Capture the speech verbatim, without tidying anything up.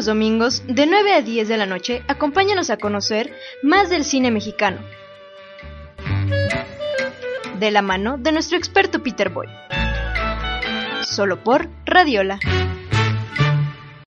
los domingos, de nueve a diez de la noche, acompáñanos a conocer más del cine mexicano, de la mano de nuestro experto Peter Boy. Solo por Radiola.